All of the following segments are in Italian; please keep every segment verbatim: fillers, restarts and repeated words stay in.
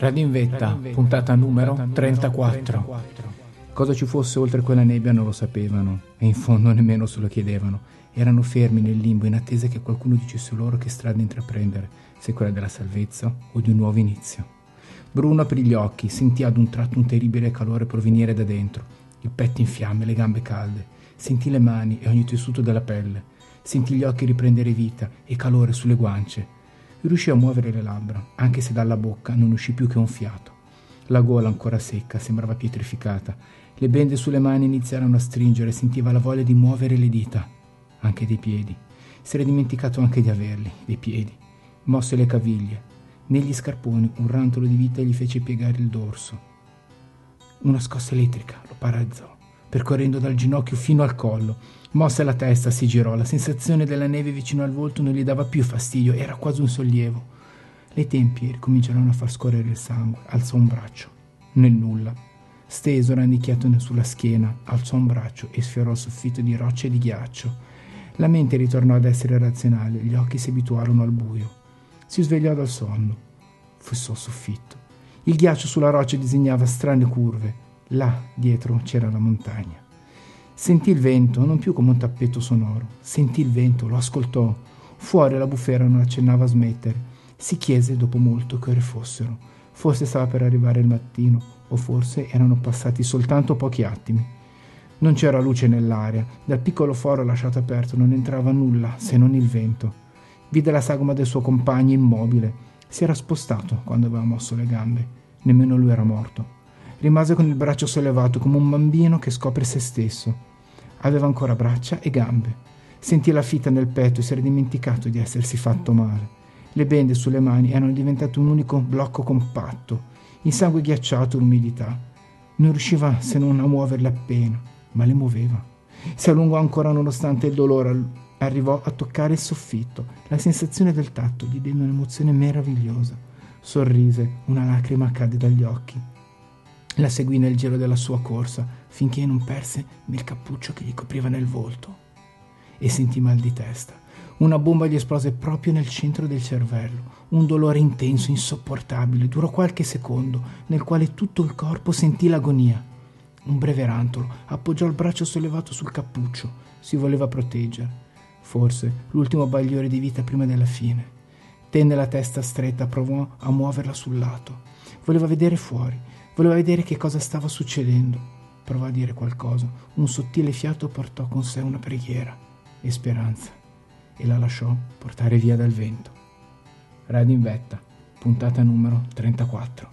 Radio in Vetta, puntata numero trentaquattro. Cosa ci fosse oltre quella nebbia non lo sapevano, e in fondo nemmeno se lo chiedevano. Erano fermi nel limbo in attesa che qualcuno dicesse loro che strada intraprendere, se quella della salvezza o di un nuovo inizio. Bruno aprì gli occhi, sentì ad un tratto un terribile calore provenire da dentro, il petto in fiamme, le gambe calde, sentì le mani e ogni tessuto della pelle, sentì gli occhi riprendere vita e calore sulle guance. Riuscì a muovere le labbra, anche se dalla bocca non uscì più che un fiato. La gola ancora secca sembrava pietrificata. Le bende sulle mani iniziarono a stringere, sentiva la voglia di muovere le dita, anche dei piedi. Si era dimenticato anche di averli, dei piedi. Mosse le caviglie. Negli scarponi un rantolo di vita gli fece piegare il dorso. Una scossa elettrica lo paralizzò, percorrendo dal ginocchio fino al collo. Mosse la testa, si girò. La sensazione della neve vicino al volto non gli dava più fastidio, era quasi un sollievo. Le tempie ricominciarono a far scorrere il sangue. Alzò un braccio. Nel nulla. Steso, rannicchiato sulla schiena, alzò un braccio e sfiorò il soffitto di rocce e di ghiaccio. La mente ritornò ad essere razionale, gli occhi si abituarono al buio. Si svegliò dal sonno. Fissò il soffitto. Il ghiaccio sulla roccia disegnava strane curve. Là, dietro, c'era la montagna. Sentì il vento, non più come un tappeto sonoro. Sentì il vento, lo ascoltò. Fuori la bufera non accennava a smettere. Si chiese dopo molto che ore fossero. Forse stava per arrivare il mattino, o forse erano passati soltanto pochi attimi. Non c'era luce nell'aria. Dal piccolo foro lasciato aperto non entrava nulla, se non il vento. Vide la sagoma del suo compagno immobile. Si era spostato quando aveva mosso le gambe. Nemmeno lui era morto. Rimase con il braccio sollevato come un bambino che scopre se stesso. Aveva ancora braccia e gambe. Sentì la fitta nel petto e si era dimenticato di essersi fatto male. Le bende sulle mani erano diventate un unico blocco compatto. Il sangue ghiacciato, l'umidità. Non riusciva se non a muoverle appena, ma le muoveva. Si allungò ancora nonostante il dolore. Arrivò a toccare il soffitto. La sensazione del tatto gli diede un'emozione meravigliosa. Sorrise, una lacrima cadde dagli occhi. La seguì nel giro della sua corsa finché non perse il cappuccio che gli copriva nel volto e sentì mal di testa. Una bomba gli esplose proprio nel centro del cervello. Un dolore intenso, insopportabile, durò qualche secondo, nel quale tutto il corpo sentì l'agonia. Un breve rantolo, appoggiò il braccio sollevato sul cappuccio, si voleva proteggere. Forse l'ultimo bagliore di vita prima della fine. Tenne la testa stretta, provò a muoverla sul lato. Voleva vedere fuori. Voleva vedere che cosa stava succedendo. Provò a dire qualcosa. Un sottile fiato portò con sé una preghiera e speranza e la lasciò portare via dal vento. Radio in Vetta, puntata numero trentaquattro.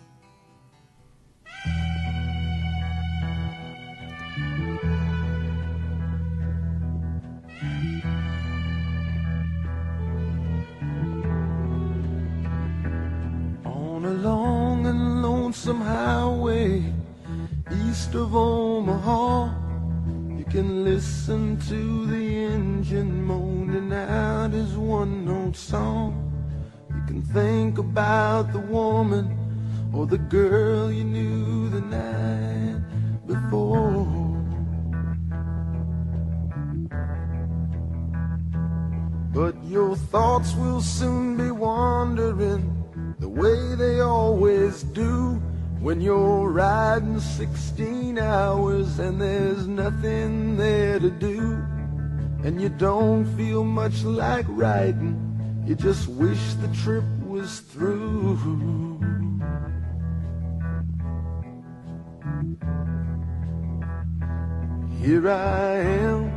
On a long and lonesome highway east of Omaha, you can listen to the engine moaning out his one-note song. You can think about the woman or the girl you knew the night before. But your thoughts will soon be wandering the way they always do when you're riding sixteen hours and there's nothing there to do, and you don't feel much like riding, you just wish the trip was through. Here I am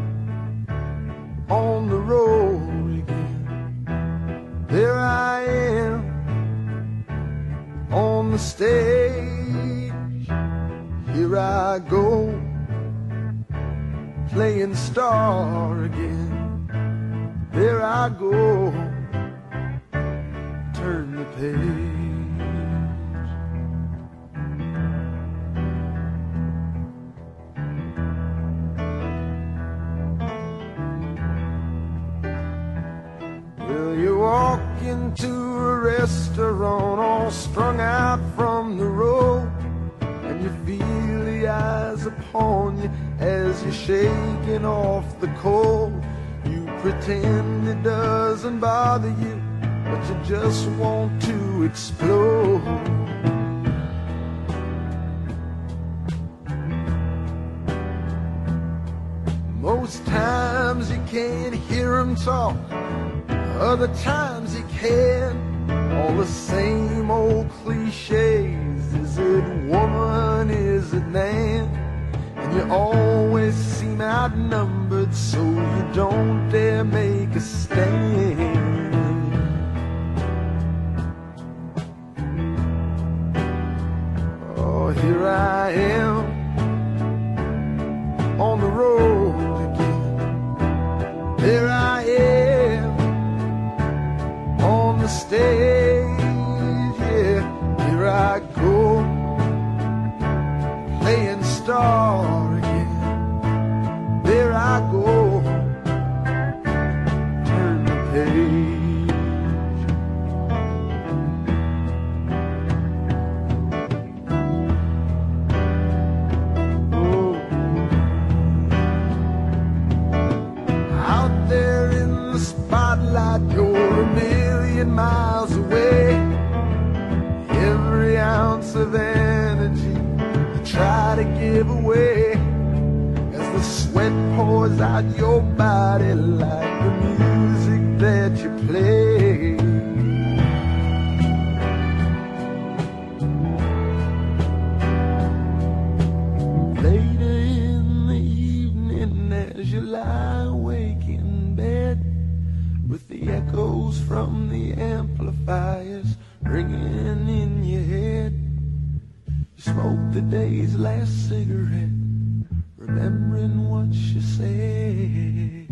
on the road again. There I am on the stage. Here I go, playing star again. There I go, turn the page. Well, you walk into a restaurant all strung out from the road, and you feel the eyes upon you as you're shaking off the cold. You pretend it doesn't bother you, but you just want to explode. Most times you can't hear him talk, other times you can. All the same old cliches. Is it woman, is it man? And you always seem outnumbered, so you don't dare make a stand. Oh, here I am on the road again. There I am on the stage, yeah. Here I go, playing star again. There I go, turn the page. Oh. Out there in the spotlight, you're a million miles away. Every ounce of energy you try to give away as the sweat pours out your body like the music that you play. Later in the evening as you lie awake in bed with the echoes from the amplifiers ringing in your head, you smoke the day's last cigarette, remembering what you said.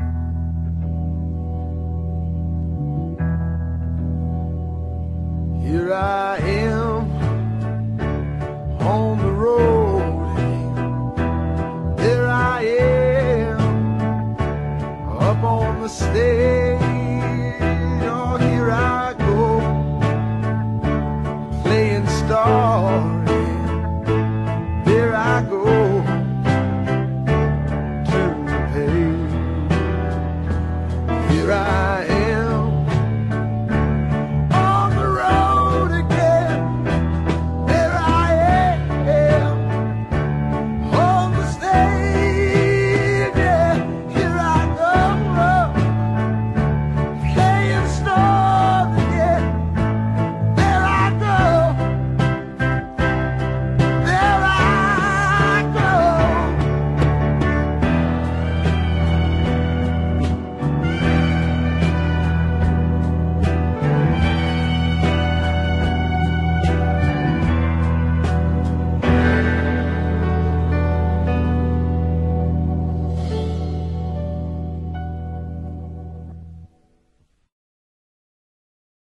Here I am on the road again. There I am up on the stage.